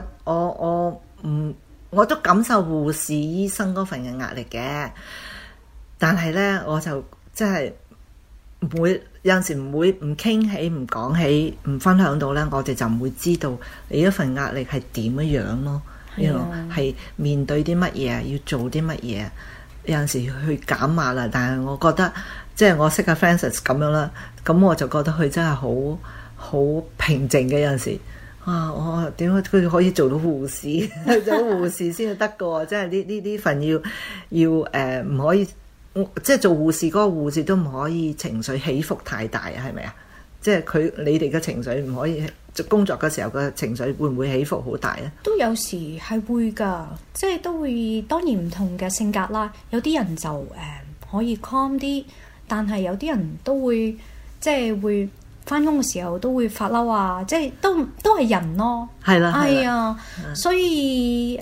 我都感受護士醫生嗰份嘅壓力嘅，但係咧我就即係唔會有陣時唔傾起、唔講起、唔分享到咧，我哋就唔會知道你一份壓力係點樣咯。係面對啲乜嘢，要做啲乜嘢。有陣時去減壓啦，但係我覺得即係我識阿 Francis 咁樣啦，咁我就覺得佢真係好平靜嘅。有陣時我點解佢可以做到護士？做到護士先至得嘅喎，即係呢份要唔可以，即係做護士嗰個護士都唔可以情緒起伏太大啊？係咪啊？即係你哋嘅情緒唔可以，工作嘅時候嘅情緒會唔會起伏好大咧？ 都有時係會㗎，即係都會，當然唔同嘅性格啦。有啲人就可以 calm 啲，但係有啲人都會即係會返工嘅時候都會發嬲啊！即係都係人咯。係啦，係啊，所以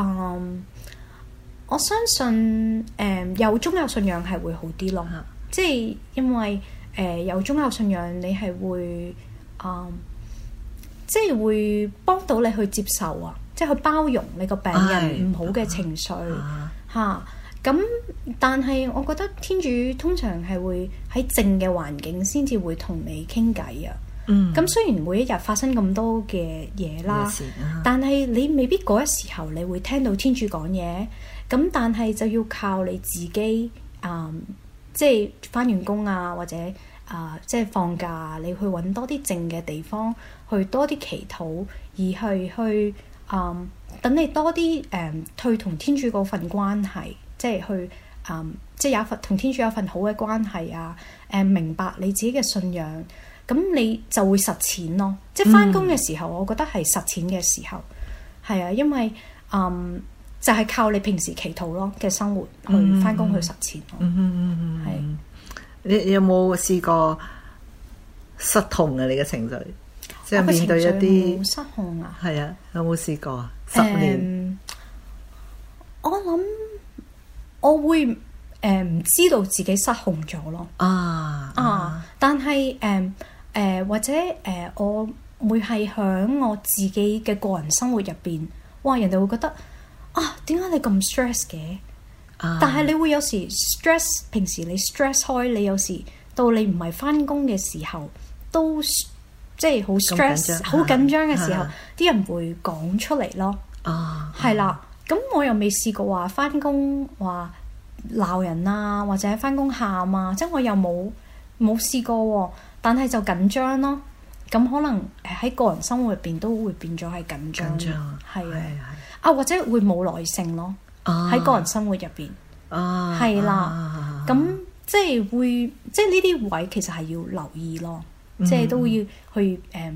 我相信有宗教信仰係會好啲咯。即係因為有宗教信仰，你係會即係會幫到你去接受啊，即係去包容你個病人唔好嘅情緒嚇。咁但係我覺得天主通常係會喺靜嘅環境先至會同你傾偈啊。咁雖然每一日發生咁多嘅嘢啦，但係你未必嗰一時候你會聽到天主講嘢。咁但係就要靠你自己即係返完工啊，或者即係放假，你去揾多啲靜嘅地方，去多啲祈禱，而去等你多啲去同天主嗰份關係，即係去即係有一份同天主有一份好嘅關係啊。明白你自己嘅信仰，咁你就會實踐咯。即係返工嘅時候，我覺得係實踐嘅時候，係啊，因為就係靠你平時祈禱咯嘅生活去返工去實踐咯。係。 你有冇試過失控啊？你嘅情緒，即係面對一啲失控啊？ 係啊，有冇試過啊？10年， 我諗我會唔知道自己失控咗咯。但係或者我會係響我自己嘅個人生活入邊，哇！人哋會覺得點解你咁 stress 嘅？但係你會有時 stress， 平時你 stress 開，你有時到你唔係返工嘅時候，都即係好 stress、好緊張嘅時候，啲人會講出嚟咯。係啦，咁我又未試過話返工話鬧人啊，或者返工喊啊，即係我又冇試過喎。但係就緊張咯。咁可能喺個人生活入邊都會變咗係緊張，係啊，或者會冇耐性咯。喺個人生活入邊，係啦，咁即係會，即係呢啲位其實係要留意咯，即係都要去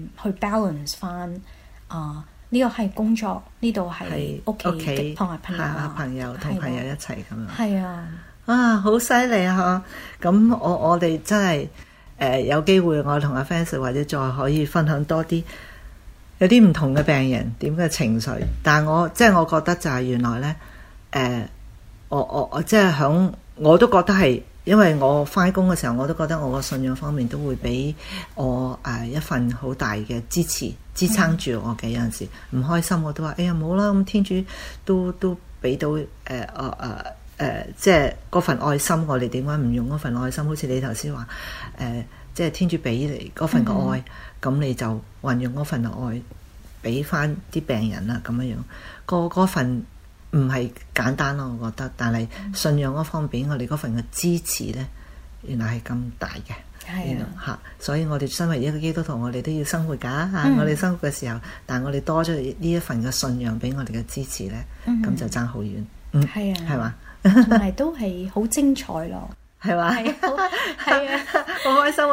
balance 翻呢個係工作，呢度係屋企同埋朋友同朋友一齊咁樣。 係啊， 好犀利啊！咁我哋真係有機會，我同阿 Francis 或者再可以分享多啲。有啲唔同嘅病人點嘅情緒，但係我覺得就係原來咧。我即係我都覺得係，因為我返工嘅時候，我都覺得我個信仰方面都會俾我一份好大嘅支持，支撐住我嘅。有陣時唔開心，我都話：哎呀，冇啦，咁天主都俾到即係嗰份愛心，我哋點解唔用嗰份愛心？好似你頭先話即係天主俾你嗰份嘅愛，咁你就運用嗰份嘅愛俾翻啲病人啦，咁樣嗰份。唔係簡單咯，我覺得，但係信仰嗰方面，我哋嗰份嘅支持咧，原來係咁大嘅，所以我哋身為一個基督徒，我哋都要生活㗎嚇。我哋生活嘅時候，但係我哋多咗呢一份嘅信仰俾我哋嘅支持咧，咁就爭好遠。係啊，係嘛，同埋都係好精彩咯。 係嘛？ 係啊， 好開心！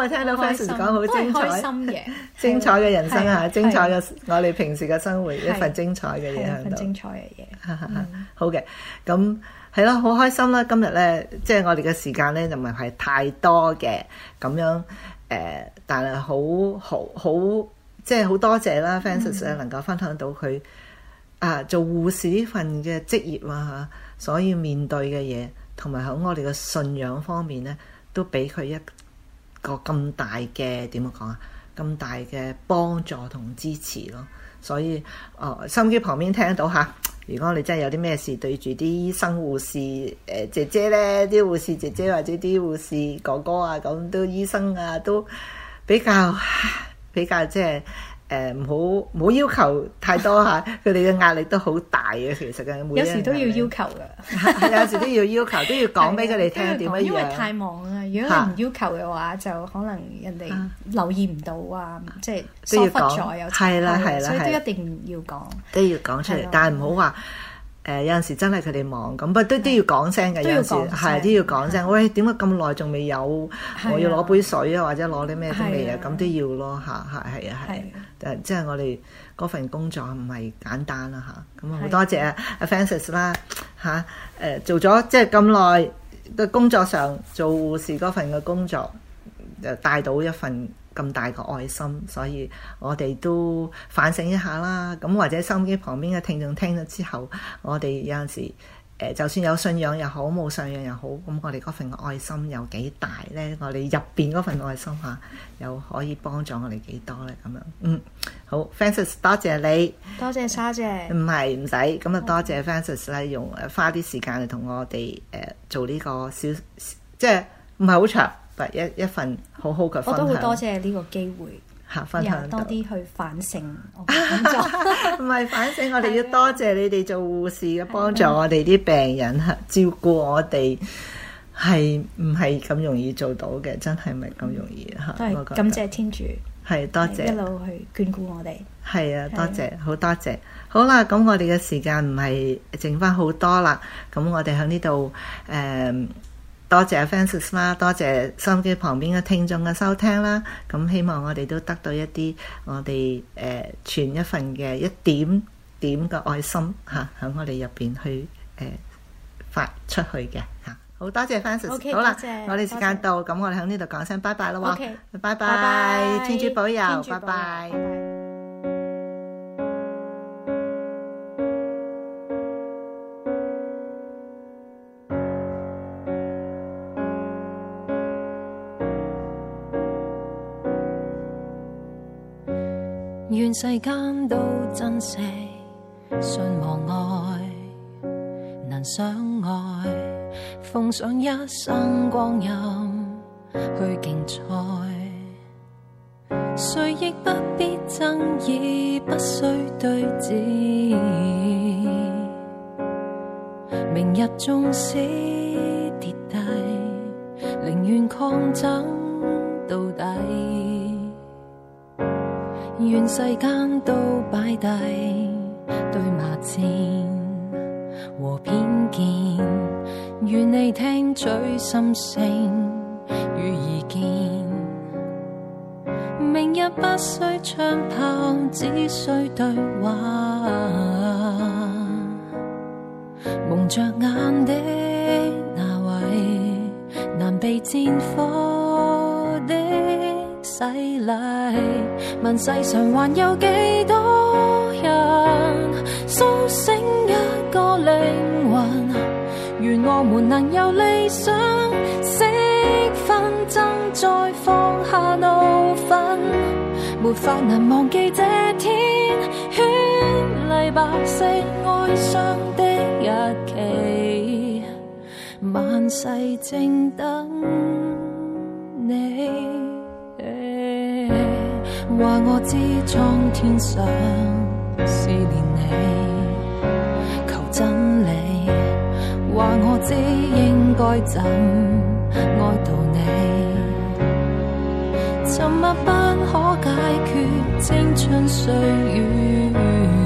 我聽到 Francis 講好精彩， 開心嘅精彩嘅人生啊， 係精彩嘅我哋平時嘅生活，一份精彩嘅嘢喺度。 一份精彩嘅嘢。 好嘅，咁係咯，好開心啦！今日咧，即係我哋嘅時間咧，就唔係太多嘅咁樣但係好即係好多謝啦 Francis 咧，能夠分享到佢做護士呢份嘅職業啊，所以面對嘅嘢，同埋喺我哋嘅信仰方面咧，都俾佢一個咁大嘅點樣講啊，咁大嘅幫助同支持咯。所以收音機旁邊聽到嚇，如果你真係有啲咩事對住啲醫生護士姐姐咧，啲護士姐姐或者啲護士哥哥啊，咁都醫生啊，都比較即係唔好要求太多嚇，佢哋嘅壓力都好大嘅。其實嘅有時都要要求㗎， 有時都要求，都要講俾佢哋聽點樣樣。 因為太忙啊！如果你唔要求嘅話，就可能人哋留意唔到啊，即係疏忽咗有係啦， 所以都一定要講， 都要講出嚟，但係唔好話。有陣時真係佢哋忙咁，不過都要講聲嘅。有陣時係都要講聲。喂，點解咁耐仲未有？我要攞杯水啊，或者攞啲咩都未啊，咁都要咯嚇。係。即係我哋嗰份工作唔係簡單啦嚇。咁好多謝阿 Francis 啦嚇。做咗即係咁耐嘅工作上做護士嗰份嘅工作，就帶到一份咁大個愛心，所以我哋都反省一下啦。咁或者收音機旁邊嘅聽眾聽咗之後，我哋有陣時就算有信仰又好，冇信仰又好，咁我哋嗰份愛心有幾大呢？我哋入邊嗰份愛心又可以幫助我哋幾多呢？咁樣好 Francis 多謝你， 多謝沙姐。 唔使咁啊，多謝 Francis 咧，用花啲時間嚟同我哋做呢個小，即係唔係好長。一份好好嘅分享， 我都好多謝呢個機會分享多啲去反省我嘅工作。 唔係反省，我哋要多謝你哋做護士嘅幫助我哋啲病人照顧我哋，係唔係咁容易做到嘅？真係唔係咁容易嚇。 都係感謝天主， 係多謝一路去眷顧我哋。 係啊，多謝，好多謝。好啦，咁我哋嘅時間唔係剩翻好多啦，咁我哋喺呢度多謝 Francis 啦，多謝收音機旁邊嘅聽眾嘅收聽啦。咁希望我哋都得到一啲我哋傳一份嘅一點點嘅愛心喺我哋入邊去發出去嘅嚇。好多謝 Francis。好啦，我哋時間到，咁我哋喺呢度講聲拜拜啦喎。拜拜，天主保佑，拜拜。 願世間都珍惜信望愛，能相愛，奉上一生光陰去競賽，誰亦不必爭議，不需對峙，明日縱使跌低，寧願抗爭到底。願世間都擺低對罵戰和偏見，願你聽取心聲與意見。明日不需槍炮，只需對話。蒙着眼的那位，難被戰火的洗禮，問世上還有幾多人甦醒一個靈魂，願我們能有理想釋紛爭，再放下怒憤，沒法能忘記這天絢麗白色哀傷的日期，萬世正等你。話我知蒼天上思念你，求真理。話我知應該怎愛悼你，沉默不可解決青春歲月，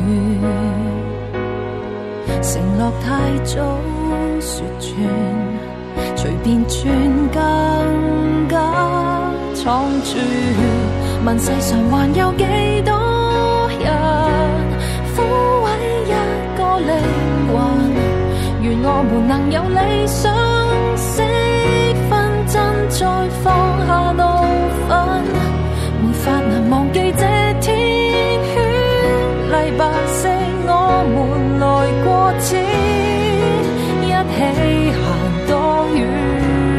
承諾太早說穿，隨便轉更加錯闖住，問世上還有幾多人撫慰一個靈魂，願我們能有理想，識分真再放下怒憤，沒法能忘記這天圈黎白色我們來過此，一起行多遠，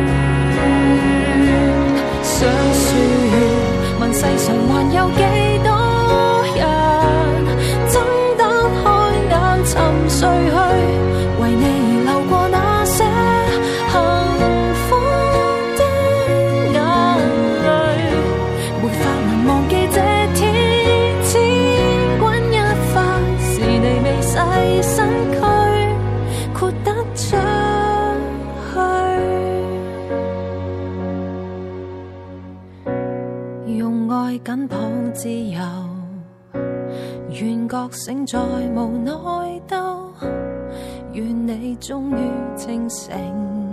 想說問世上還有幾多人睜得開眼沉睡去，為你而流過那些幸福的眼淚，沒法能忘記這天千鈞一髮，是你未細身軀豁得出去，用愛緊抱自由，願覺醒再無內鬥，願你終於清醒。